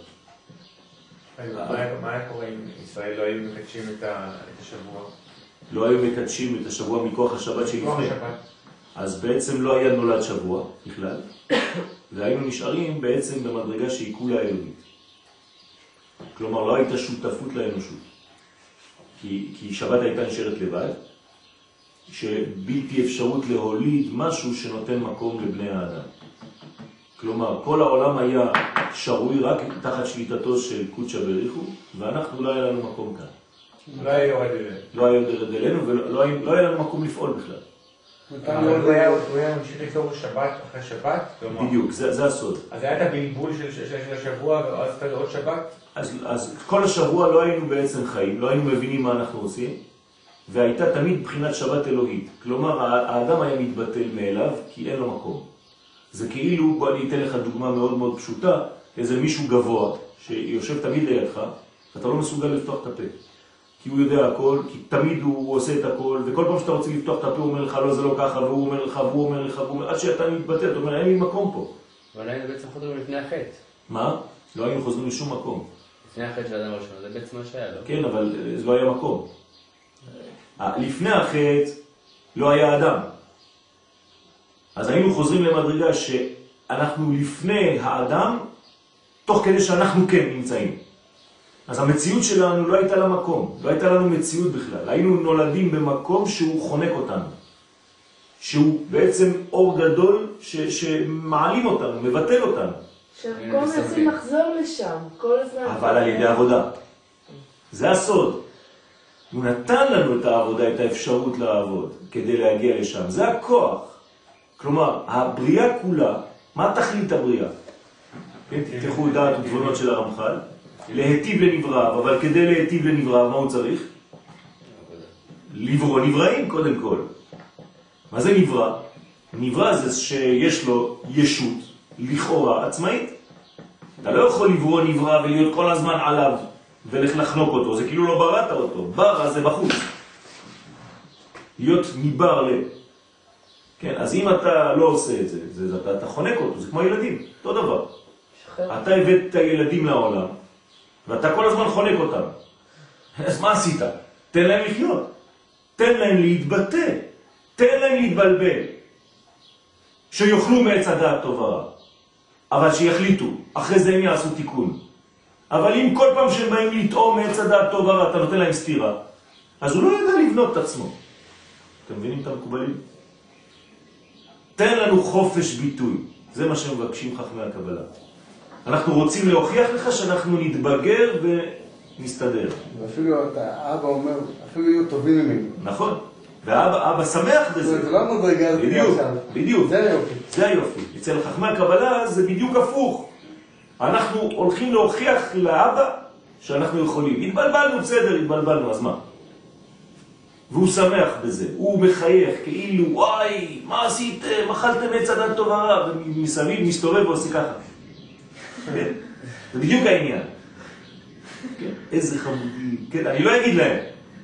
מה היה קורה אם ישראל לא היו מקדשים את השבוע? לא היו מקדשים את השבוע מכוח השבת שלפני. אז בעצם לא היה נולד שבוע בכלל, והיינו נשארים בעצם במדרגה שהיא כולה אלוהית. כלומר, לא הייתה שותפות לאנושות. כי שבת הייתה נשארת לבד, שבלתי אפשרות להוליד משהו שנותן מקום לבני האדם. כלומר, כל העולם היה שרוי רק תחת שליטתו של קודשא בריחו, ואנחנו לא היה לנו מקום כאן. לא היה יורד אלינו. לא היה יורד אלינו, ולא היה לנו מקום לפעול בכלל. הוא היה ממשיך לפתור שבת אחרי שבת? בדיוק, זה הסוד. אז היה את הבלבול של השבוע, ואז אתה עוד שבת? אז כל השבוע לא היינו בעצם חיים, לא היינו מבינים מה אנחנו עושים, והייתה תמיד בחינת שבת אלוהית. כלומר, האדם היה מתבטל מאליו, כי אין לו מקום. זה כאילו, בוא אני אתן לך דוגמה מאוד מאוד פשוטה, איזה מישהו גבוה, שיושב תמיד לידך, אתה לא מסוגל לפתוח את הפה. כי הוא יודע הכל, כי תמיד הוא עושה את הכל, וכל פעם שאתה רוצה לפתוח את הפה, הוא אומר לך, לא, זה לא ככה, והוא אומר לך, והוא אומר לך, והוא אומר, עד שאתה מתבטל, אתה אומר, אין לי מקום פה. אבל היינו בעצם חוזרים לפני החטא. מה? לא היינו חוזרים לשום מקום. לפני החטא של האדם הראשון, זה בעצם מה שהיה, לא? כן, אבל זה לא היה מקום. לפני החטא לא היה אדם. אז היינו חוזרים למדרגה שאנחנו לפני האדם, תוך כדי שאנחנו כן נמצאים. אז המציאות שלנו לא הייתה לה מקום, לא הייתה לנו מציאות בכלל. היינו נולדים במקום שהוא חונק אותנו. שהוא בעצם אור גדול שמעלים אותנו, מבטל אותנו. שכל מנסים לחזור לשם, כל הזמן. אבל על ידי עבודה. זה הסוד. הוא נתן לנו את העבודה, את האפשרות לעבוד, כדי להגיע לשם. זה הכוח. כלומר, הבריאה כולה, מה תכלית הבריאה? תפתחו דעת ותבונות של הרמח"ל. להיטיב לנבראיו, אבל כדי להיטיב לנבראיו, מה הוא צריך? לברוא נבראים קודם כל. מה זה נברא? נברא זה שיש לו ישות לכאורה עצמאית. אתה לא יכול לברוא נברא ולהיות כל הזמן עליו ולחנוק אותו, זה כאילו לא בראת אותו. ברא זה בחוץ. להיות ניבר לב. כן, אז אם אתה לא עושה את זה, אתה חונק אותו, זה כמו ילדים, אותו דבר. אתה הבאת את הילדים לעולם, ואתה כל הזמן חונק אותם. אז מה עשית? תן להם לחיות. תן להם להתבטא. תן להם להתבלבל. שיוכלו מעץ הדעת טוב ורע. אבל שיחליטו. אחרי זה הם יעשו תיקון. אבל אם כל פעם שהם באים לטעום מעץ הדעת טוב ורע, אתה נותן להם סתירה, אז הוא לא יודע לבנות את עצמו. אתם מבינים את המקובלים? תן לנו חופש ביטוי. זה מה שמבקשים חכמי הקבלה. אנחנו רוצים להוכיח לך שאנחנו נתבגר ונסתדר. ואפילו האבא אומר, אפילו יהיו טובים ממנו. נכון. והאבא שמח בזה. זה לא מדרגה. בדיוק, בדיוק. זה היופי. זה היופי. אצל חכמי הקבלה זה בדיוק הפוך. אנחנו הולכים להוכיח לאבא שאנחנו יכולים. התבלבלנו, בסדר, התבלבלנו, אז מה? והוא שמח בזה. הוא מחייך כאילו, וואי, מה עשיתם? אכלתם עץ הדת טוב ורע. ומסביב מסתובב ועושה ככה. זה בדיוק העניין. איזה חמודים. אני לא אגיד להם.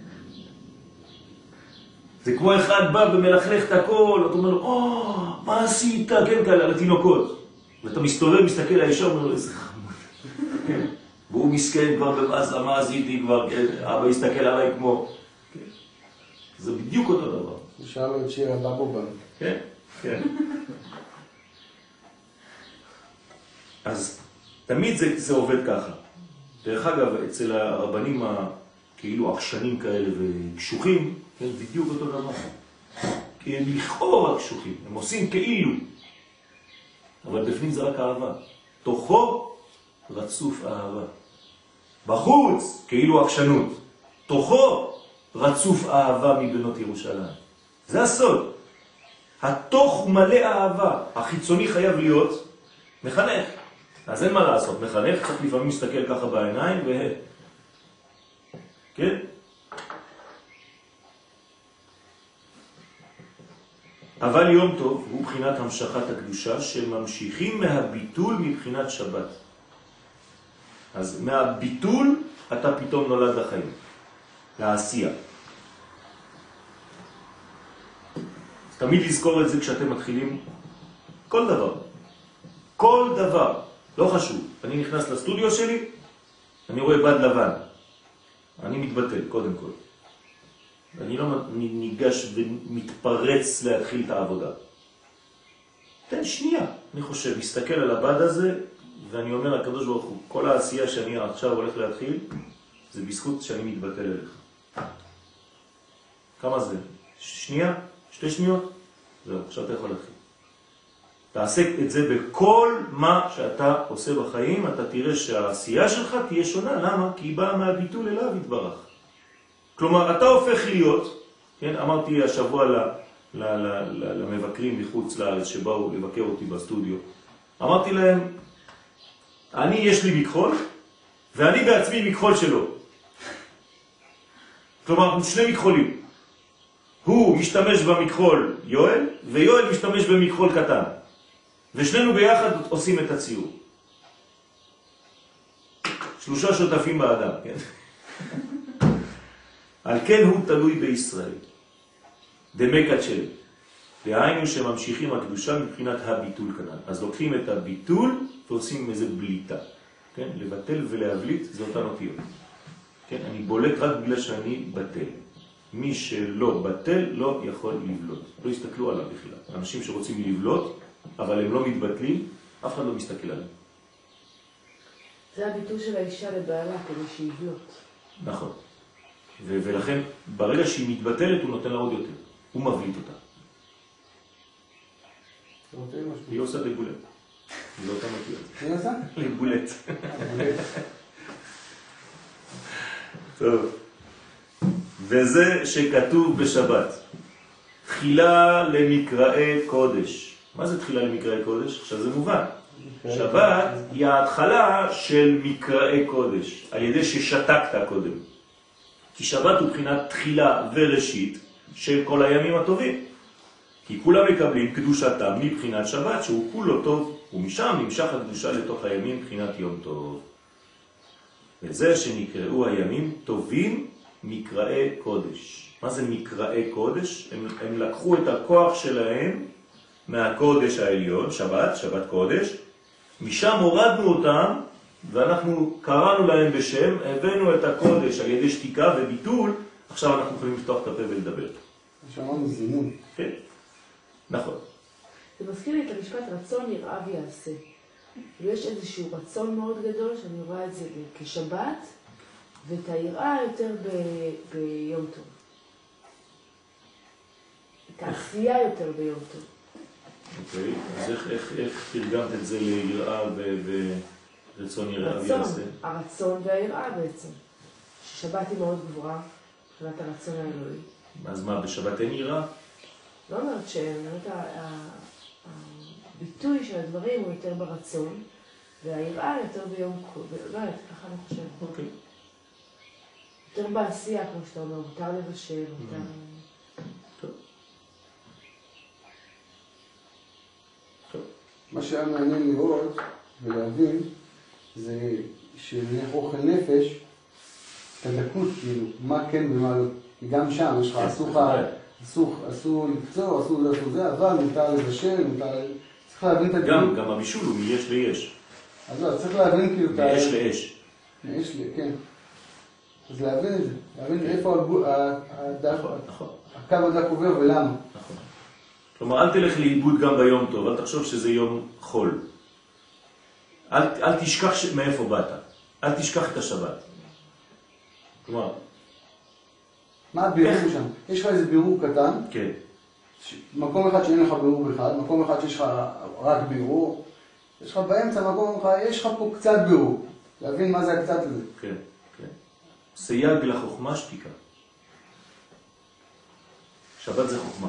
זה כמו אחד בא ומלכלך את הכל, אתה אומר לו, מה עשית? כן, כאלה, על התינוקות. ואתה מסתובב, מסתכל על האישה, אומר לו, איזה חמוד. והוא מסכן כבר במאסה, מה עשיתי כבר, אבא יסתכל עליי כמו... זה בדיוק אותו דבר. הוא שאל לו את שיר הבבובן. כן, כן. אז תמיד זה עובד ככה. דרך אגב, אצל הרבנים כאילו עקשנים כאלה וקשוחים, כן, בדיוק אותו דבר. כי הם לכאורה קשוחים, הם עושים כאילו. אבל בפנים זה רק אהבה. תוכו רצוף אהבה. בחוץ, כאילו עקשנות. תוכו רצוף אהבה מבנות ירושלים. זה הסוד. התוך מלא אהבה. החיצוני חייב להיות מחנך. אז אין מה לעשות. מחנך צריך לפעמים להסתכל ככה בעיניים כן? אבל יום טוב הוא בחינת המשכת הקדושה שממשיכים מהביטול מבחינת שבת. אז מהביטול אתה פתאום נולד לחיים, לעשייה. תמיד לזכור את זה כשאתם מתחילים כל דבר. כל דבר, לא חשוב. אני נכנס לסטודיו שלי, אני רואה בד לבן. אני מתבטל, קודם כל. אני לא ניגש ומתפרץ להתחיל את העבודה. תן שנייה, אני חושב, מסתכל על הבד הזה, ואני אומר לקדוש ברוך הוא, כל העשייה שאני עכשיו הולך להתחיל, זה בזכות שאני מתבטל אליך. כמה זה? שנייה? 2 שניות? זהו, עכשיו אתה יכול להתחיל. תעסק את זה בכל מה שאתה עושה בחיים, אתה תראה שהעשייה שלך תהיה שונה. למה? כי היא באה מהביטול אליו יתברך. כלומר, אתה הופך להיות, כן, אמרתי השבוע למבקרים מחוץ לארץ שבאו לבקר אותי בסטודיו, אמרתי להם, יש לי מכחול, ואני בעצמי מכחול שלו. כלומר, 2 מכחולים. הוא משתמש במכחול יואל, ויואל משתמש במכחול קטן. ושנינו ביחד עושים את הציור. 3 שותפים באדם, כן? על כן הוא תלוי בישראל. דמקת של. דהיינו שממשיכים הקדושה מבחינת הביטול כנ"ל. אז לוקחים את הביטול ועושים איזה בליטה. כן? לבטל ולהבליט זה אותן אותיות. כן? אני בולט רק בגלל שאני בטל. מי שלא בטל לא יכול לבלוט. לא יסתכלו עליו בכלל. אנשים שרוצים לבלוט, אבל הם לא מתבטלים, אף אחד לא מסתכל עליהם. זה הביטול של האישה לבעלה כדי שיבלוט. נכון. ולכן ברגע שהיא מתבטלת הוא נותן לה עוד יותר. הוא מבליט אותה. היא עושה לגולט. זה אותה מתיות. מי עושה? לגולט. טוב. וזה שכתוב בשבת. תחילה למקראי קודש. מה זה תחילה למקראי קודש? עכשיו זה מובן. שבת היא ההתחלה של מקראי קודש, על ידי ששתקת קודם. כי שבת הוא בחינת תחילה וראשית של כל הימים הטובים. כי כולם מקבלים קדושתם מבחינת שבת, שהוא כולו טוב, ומשם נמשך הקדושה לתוך הימים בחינת יום טוב. וזה שנקראו הימים טובים מקראי קודש. מה זה מקראי קודש? הם לקחו את הכוח שלהם מהקודש העליון, שבת קודש, משם הורדנו אותם, ואנחנו קראנו להם בשם, הבאנו את הקודש על ידי שתיקה וביטול, עכשיו אנחנו יכולים לפתוח את הפה ולדבר. שמענו זימון. כן, נכון. זה מזכיר לי את המשפט רצון יראה ויעשה. יש איזשהו רצון מאוד גדול שאני רואה את זה כשבת, ואת היראה יותר ביום טוב. את העשייה יותר ביום טוב. אוקיי, אז איך תרגמת את זה ליראה ורצון יראה ויעשה? הרצון והיראה בעצם. ששבת היא מאוד גבוהה, מבחינת הרצון האלוהי. אז מה, בשבת אין יראה? לא אומרת הביטוי של הדברים הוא יותר ברצון, והיראה יותר ביום קוד. לא יודעת, ככה אני חושבת. אוקיי. יותר בעשייה, כמו שאתה אומר, מותר לבשל, יותר... מה שהיה מעניין לראות ולהבין זה שלנך אוכל נפש, את הדקות כאילו, מה כן ומה לא. כי גם שם יש לך אסור לקצור, אסור זה, אבל מותר לבשל, צריך להבין את הדקות. גם הבישול הוא מיש ליש. אז לא, צריך להבין כאילו את ה... מיש לאש. מיש לי, כן. אז להבין את זה, להבין איפה הקו הדק עובר ולמה. נכון. כלומר, אל תלך לאיבוד גם ביום טוב, אל תחשוב שזה יום חול. אל תשכח מאיפה באת. אל תשכח את השבת. כלומר... מה הבירור שם? יש לך איזה בירור קטן. כן. מקום אחד שאין לך בירור בכלל, מקום אחד שיש לך רק בירור. יש לך באמצע מקום אחד, יש לך פה קצת בירור. להבין מה זה הקצת הזה. כן, כן. סייג לחוכמה שתיקה. שבת זה חוכמה.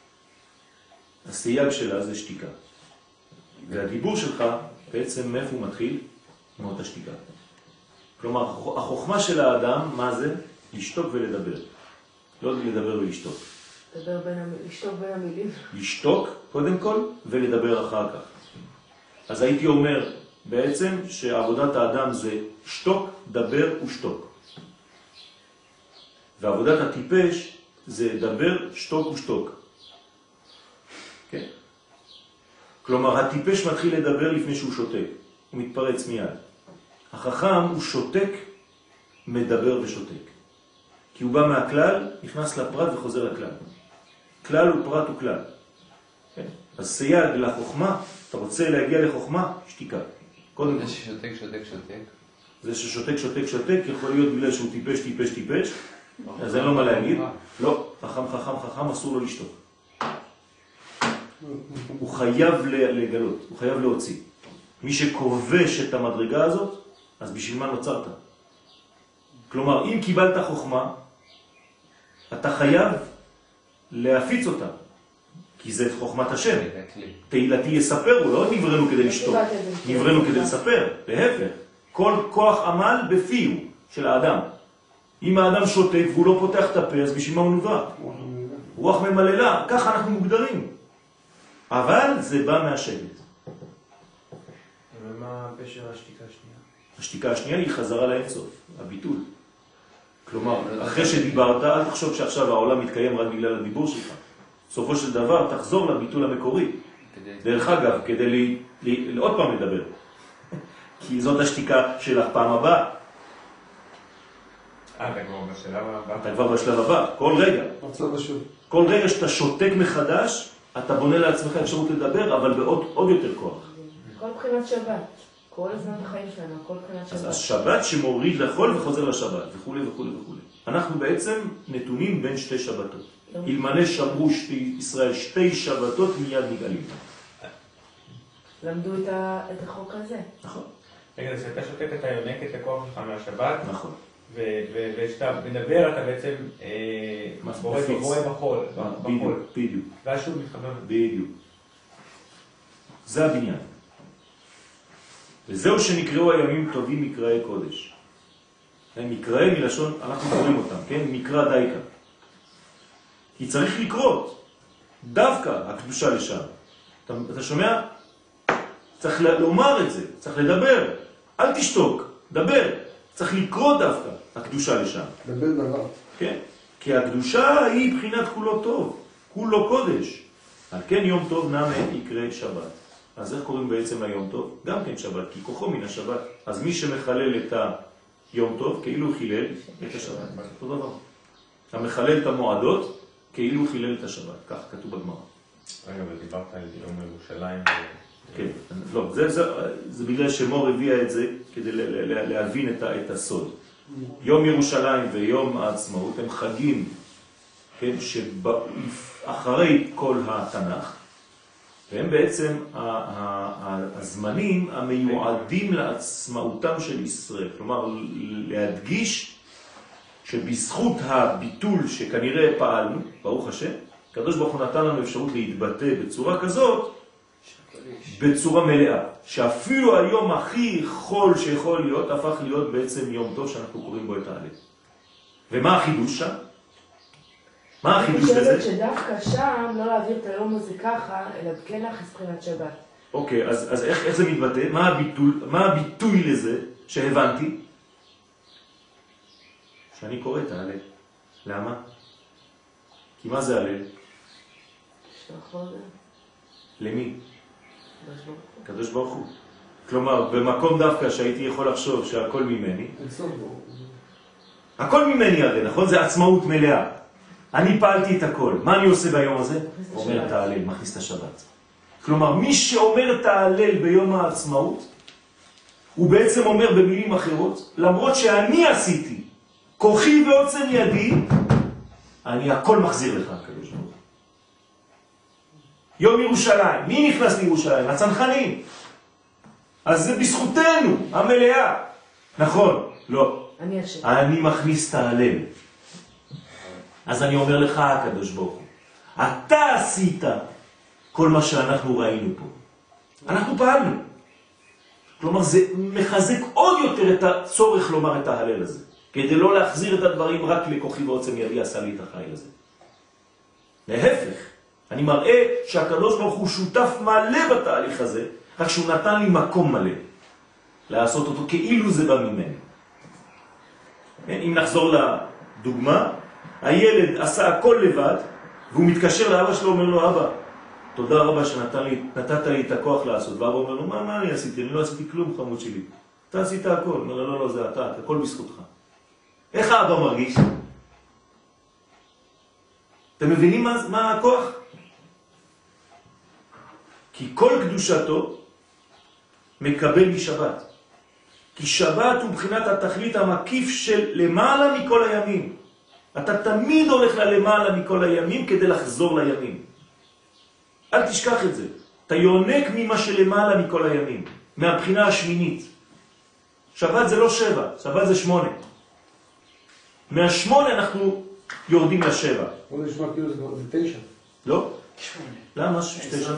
הסייג שלה זה שתיקה. והדיבור שלך בעצם מאיפה הוא מתחיל? מאותה שתיקה. כלומר, החוכמה של האדם, מה זה? לשתוק ולדבר. לא לדבר ולשתוק. לשתוק בין המילים. לשתוק קודם כל ולדבר אחר כך. אז הייתי אומר בעצם שעבודת האדם זה שתוק, דבר ושתוק. ועבודת הטיפש זה דבר, שתוק ושתוק. כן? כלומר, הטיפש מתחיל לדבר לפני שהוא שותק. הוא מתפרץ מיד. החכם הוא שותק, מדבר ושותק. כי הוא בא מהכלל, נכנס לפרט וחוזר לכלל. כלל הוא פרט הוא כלל. כן? אז סייג לחוכמה, אתה רוצה להגיע לחוכמה, שתיקה. קודם זה ששותק, שותק, שותק. זה ששותק, שותק, שותק, יכול להיות בגלל שהוא טיפש, טיפש, טיפש. אז אין לו מה להגיד. לא, חכם, חכם, חכם, אסור לו לשתוק. הוא חייב לגלות, הוא חייב להוציא. מי שכובש את המדרגה הזאת, אז בשביל מה נוצרת? כלומר, אם קיבלת חוכמה, אתה חייב להפיץ אותה. כי זה חוכמת השם. תהילתי יספרו, לא נברנו כדי לשתוק. נברנו כדי לספר, להפך. כל כוח עמל בפיו של האדם. אם האדם שותק והוא לא פותח את הפה, אז בשביל מה הוא נברא? רוח ממללה, ככה אנחנו מוגדרים. אבל זה בא מהשבט. ומה פשר השתיקה השנייה? השתיקה השנייה היא חזרה לאינסוף, הביטול. כלומר, אחרי שדיברת, אל תחשוב שעכשיו העולם מתקיים רק בגלל הדיבור שלך. בסופו של דבר, תחזור לביטול המקורי. דרך אגב, כדי עוד פעם לדבר. כי זאת השתיקה שלך פעם הבאה. אתה כבר בשלב הבא. אתה כבר בשלב הבא, כל רגע. כל רגע שאתה שותק מחדש, אתה בונה לעצמך אפשרות לדבר, אבל בעוד יותר כוח. כל בחינת שבת. כל הזמן בחיים שלנו, כל בחינת שבת. אז השבת שמוריד לחול וחוזר לשבת, וכו' וכו' וכו'. אנחנו בעצם נתונים בין שתי שבתות. אלמלא שמרו ישראל שתי שבתות מיד נגאלים. למדו את החוק הזה. נכון. רגע, אז כשאתה שותק אתה יונק את הכוח שלך מהשבת, נכון. וכשאתה מדבר אתה בעצם בורא בחול. בדיוק. ואז שוב מתחבר. בדיוק. זה הבניין. וזהו שנקראו הימים טובים מקראי קודש. מקראי מלשון, אנחנו קוראים אותם, כן? מקרא דייקה. כי צריך לקרות. דווקא הקדושה לשם. אתה שומע? צריך לומר את זה, צריך לדבר. אל תשתוק, דבר. צריך לקרות דווקא הקדושה לשם. דבר דבר. כן. כי הקדושה היא בחינת כולו טוב. כולו קודש. על כן יום טוב נאמה יקרא שבת. אז איך קוראים בעצם היום טוב? גם כן שבת, כי כוחו מן השבת. אז מי שמחלל את היום טוב, כאילו חילל את השבת. אותו דבר. אתה מחלל את המועדות, כאילו חילל את השבת. כך כתוב בגמרא. רגע, אבל דיברת על יום ירושלים. כן, לא, זה בגלל שמור הביאה את זה כדי להבין את הסוד. יום ירושלים ויום העצמאות הם חגים, כן, שאחרי כל התנ"ך, והם בעצם הזמנים המיועדים לעצמאותם של ישראל. כלומר, להדגיש שבזכות הביטול שכנראה פעלנו, ברוך השם, הקדוש ברוך הוא נתן לנו אפשרות להתבטא בצורה כזאת, בצורה מלאה. שאפילו היום הכי חול שיכול להיות, הפך להיות בעצם יום טוב שאנחנו קוראים בו את העלה. ומה החידוש שם? מה החידוש בזה? אני חושבת שדווקא שם לא להעביר את היום הזה ככה, אלא כן להכניס בחינת שבת. אוקיי, אז איך זה מתבטא? מה הביטוי לזה שהבנתי? שאני קורא את העלה. למה? כי מה זה העלה? למי? קדוש ברוך הוא. כלומר, במקום דווקא שהייתי יכול לחשוב שהכל ממני, הכל ממני הרי, נכון? זה עצמאות מלאה. אני פעלתי את הכל. מה אני עושה ביום הזה? אומר את ההלל, מכניס את השבת. כלומר, מי שאומר את ההלל ביום העצמאות, הוא בעצם אומר במילים אחרות, למרות שאני עשיתי, כוחי ועוצם ידי, אני הכל מחזיר לך, הקדוש ברוך הוא. יום ירושלים, מי נכנס לירושלים? הצנחנים. אז זה בזכותנו, המלאה. נכון? לא. אני מכניס את ההלל. אז אני אומר לך, הקדוש ברוך הוא, אתה עשית כל מה שאנחנו ראינו פה. אנחנו פעלנו. כלומר, זה מחזק עוד יותר את הצורך לומר את ההלל הזה, כדי לא להחזיר את הדברים רק לכוחי ועוצם ידי עשה לי את החיל הזה. להפך, אני מראה שהקדוש ברוך הוא שותף מלא בתהליך הזה, רק שהוא נתן לי מקום מלא לעשות אותו כאילו זה בא ממני. אם נחזור לדוגמה, הילד עשה הכל לבד, והוא מתקשר לאבא שלו, אומר לו, אבא, תודה רבה שנתת לי את הכוח לעשות. ואבא אומר לו, מה אני עשיתי? אני לא עשיתי כלום, חמוד שלי. אתה עשית הכל. אומר לו, לא, זה אתה, הכל בזכותך. איך האבא מרגיש? אתם מבינים מה הכוח? כי כל קדושתו מקבל משבת. כי שבת הוא מבחינת התכלית המקיף של למעלה מכל הימים. אתה תמיד הולך למעלה מכל הימים כדי לחזור לימים. אל תשכח את זה. אתה יונק ממה שלמעלה מכל הימים. מהבחינה השמינית. שבת זה לא 7, שבת זה 8. מה-8 אנחנו יורדים ל7. בוא נשמע כאילו זה 9. לא? 8. למה? 9?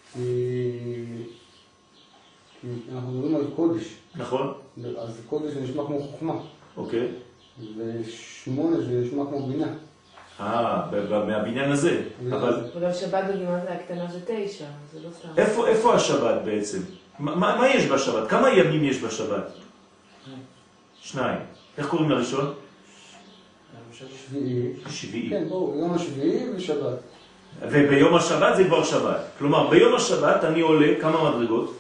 אנחנו מדברים על קודש. נכון. אז קודש זה נשמע כמו חוכמה. אוקיי. ו8 זה נשמע כמו בינה. מהבניין הזה. אבל וגם שבת בגימטריה הקטנה זה 9, זה לא סתם. איפה השבת בעצם? מה יש בשבת? כמה ימים יש בשבת? 2. איך קוראים לראשון? שביעי. כן, בואו, יום השביעי ושבת. וביום השבת זה כבר שבת. כלומר, ביום השבת אני עולה כמה מדרגות?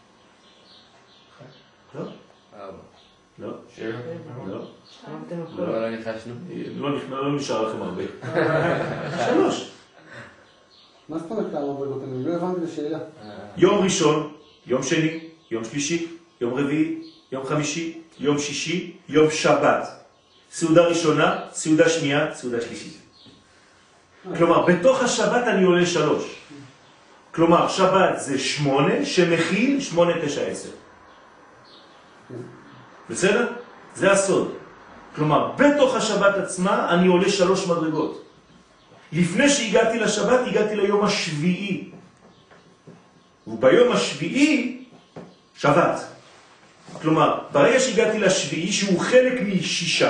לא? 4. לא. 7. לא. לא ניחשנו. לא נשאר לכם הרבה. 3. מה זאת אומרת כמה מדרגות? אני לא הבנתי את השאלה. יום ראשון, יום שני, יום שלישי, יום רביעי, יום חמישי, יום שישי, יום שבת. סעודה ראשונה, סעודה שנייה, סעודה שלישית. כלומר, בתוך השבת אני עולה 3. כלומר, שבת זה 8 שמכיל 8, 9, 10. בסדר? זה הסוד. כלומר, בתוך השבת עצמה אני עולה 3 מדרגות. לפני שהגעתי לשבת, הגעתי ליום השביעי. וביום השביעי, שבת. כלומר, ברגע שהגעתי לשביעי, שהוא חלק מ6,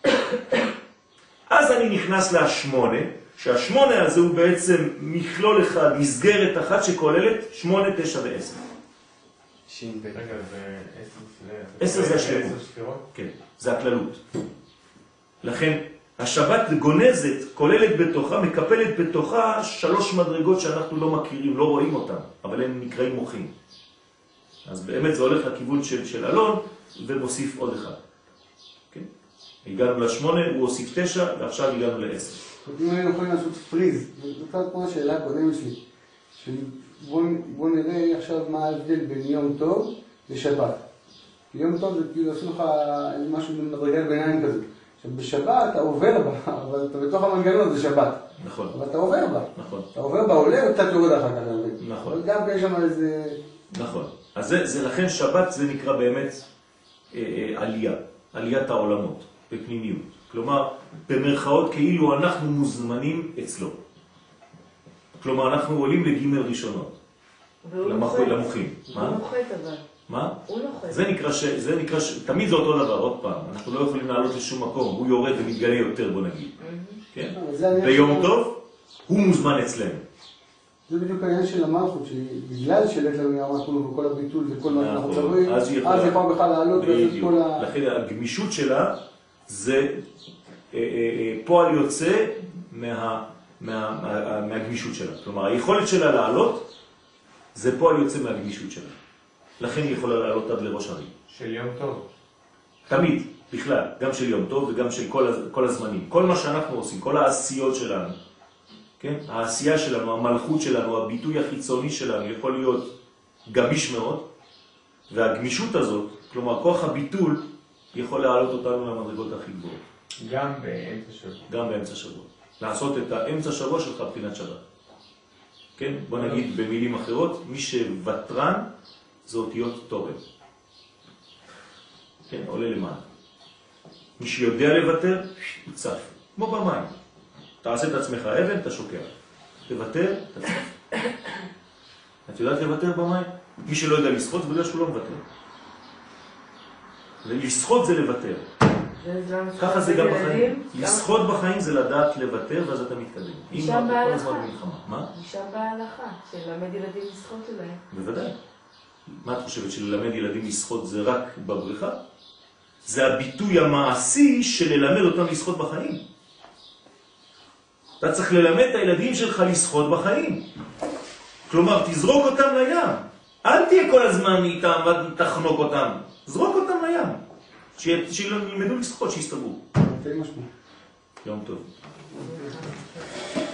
אז אני נכנס ל8, שה8 הזה הוא בעצם מכלול אחד, מסגרת אחת שכוללת 8, 9 ו10. רגע, זה 10 זה השלמות. 10 ספירות? כן, זה הכללות. לכן, השבת גונזת, כוללת בתוכה, מקפלת בתוכה 3 מדרגות שאנחנו לא מכירים, לא רואים אותן, אבל הן נקראים מוחים. אז באמת זה הולך לכיוון של אלון, ומוסיף עוד אחד. כן? הגענו ל8, הוא הוסיף 9, ועכשיו הגענו ל10. אם היינו יכולים לעשות פריז, זאת כמו השאלה הקודמת שלי, בוא נראה עכשיו מה ההבדל בין יום טוב לשבת. יום טוב זה כאילו עשו לך משהו במדרגת ביניים כזה. עכשיו בשבת אתה עובר בה, אבל אתה בתוך המנגנון זה שבת. נכון. אבל אתה עובר בה. נכון. אתה עובר בה עולה וקצת יורד אחר כך. נכון. אבל גם יש שם איזה... נכון. אז זה לכן שבת זה נקרא באמת עלייה, עליית העולמות, בפנימיות. כלומר, במרכאות כאילו אנחנו מוזמנים אצלו. כלומר, אנחנו עולים לג' ראשונות. למוחים. הוא נוחת אבל. מה? הוא נוחת. זה נקרא, תמיד זה אותו דבר, עוד פעם. אנחנו לא יכולים לעלות לשום מקום, הוא יורד ומתגלה יותר, בוא נגיד. כן? ביום טוב, הוא מוזמן אצלנו. זה בדיוק העניין של המלכות, שבגלל שלט לנו המלכות וכל הביטול וכל מה שאנחנו מדברים, אז היא יכולה בכלל לעלות ולעשות כל ה... לכן הגמישות שלה זה פועל יוצא מהגמישות שלה. כלומר, היכולת שלה לעלות זה פועל יוצא מהגמישות שלה. לכן היא יכולה לעלות עד לראש הרים. של יום טוב. תמיד, בכלל, גם של יום טוב וגם של כל הזמנים. כל מה שאנחנו עושים, כל העשיות שלנו, כן? העשייה שלנו, המלכות שלנו, הביטוי החיצוני שלנו יכול להיות גמיש מאוד, והגמישות הזאת, כלומר כוח הביטול, יכול להעלות אותנו למדרגות הכי גבוהות. גם באמצע שבוע. גם באמצע שבוע. לעשות את האמצע שבוע שלך בחינת שבת. כן? בוא נגיד במילים אחרות, מי שוותרן זה אותיות תורן. כן? עולה למעלה. מי שיודע לוותר, הוא צף. כמו במים. תעשה את עצמך אבן, אתה שוקע. לוותר, את יודעת לוותר במים? מי שלא יודע לשחות זה בגלל שהוא לא מוותר. לשחות זה לוותר. ככה זה גם בחיים. לשחות בחיים זה לדעת לוותר ואז אתה מתקדם. משם בהלכה. מה? משם בהלכה, שלמד ילדים לשחות אולי. בוודאי. מה את חושבת, שללמד ילדים לשחות זה רק בבריכה? זה הביטוי המעשי של ללמד אותם לשחות בחיים. אתה צריך ללמד את הילדים שלך לשחות בחיים. כלומר, תזרוק אותם לים. אל תהיה כל הזמן איתם ותחנוק אותם. זרוק אותם לים. שילמדו לשחות, שיסתברו. תן משמעות. יום טוב.